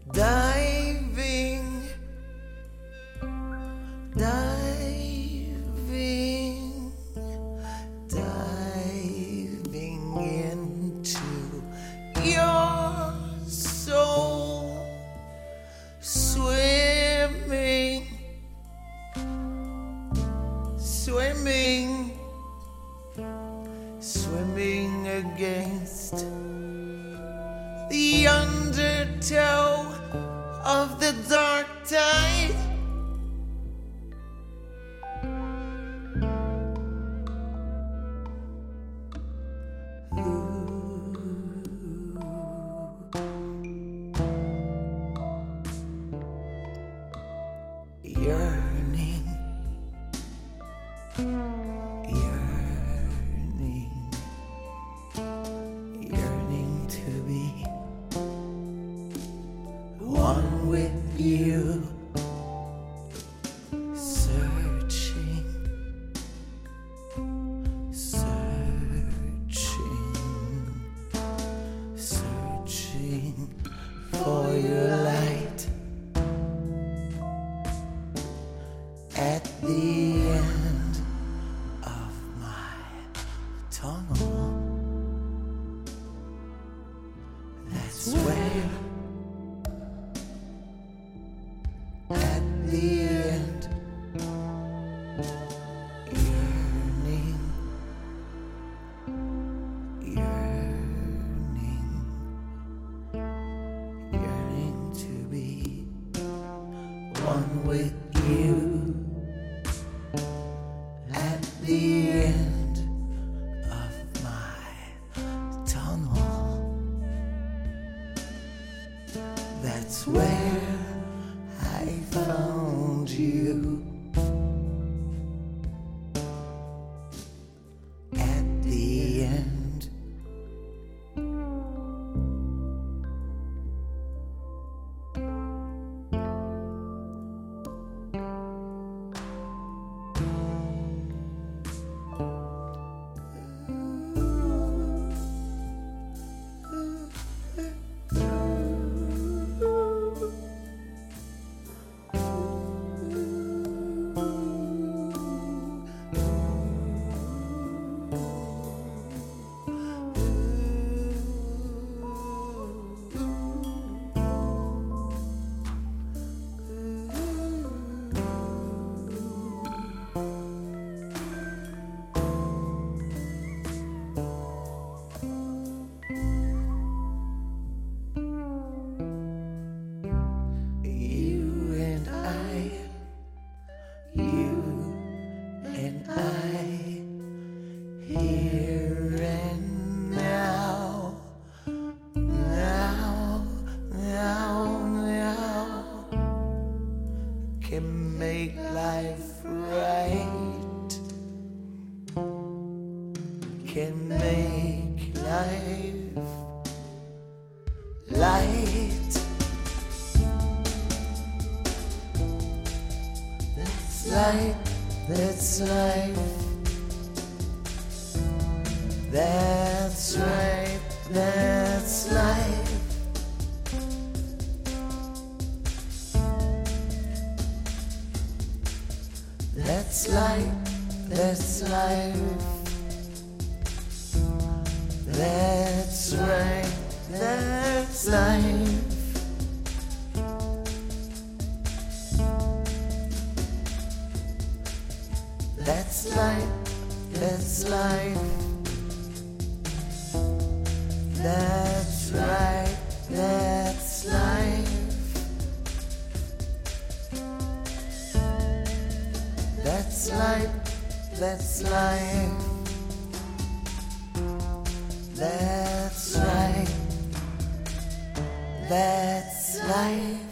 Diving, diving, diving into your soul, swimming, swimming, swimming against the undertow of the dark tide. Yearning, yearning, yearning to be one with you, searching, searching, searching for your light at the end of my tunnel. That's where, at the end, yearning, yearning, yearning to be one with you at the end of my tunnel. That's where I found you, at the end. Here and now, now, now, now, can make life right, can make life light. That's light, that's life. That's right, that's life. That's life, that's life. That's right, that's life. That's life, that's life. That's right, that's life. That's life, that's life. That's right, that's life.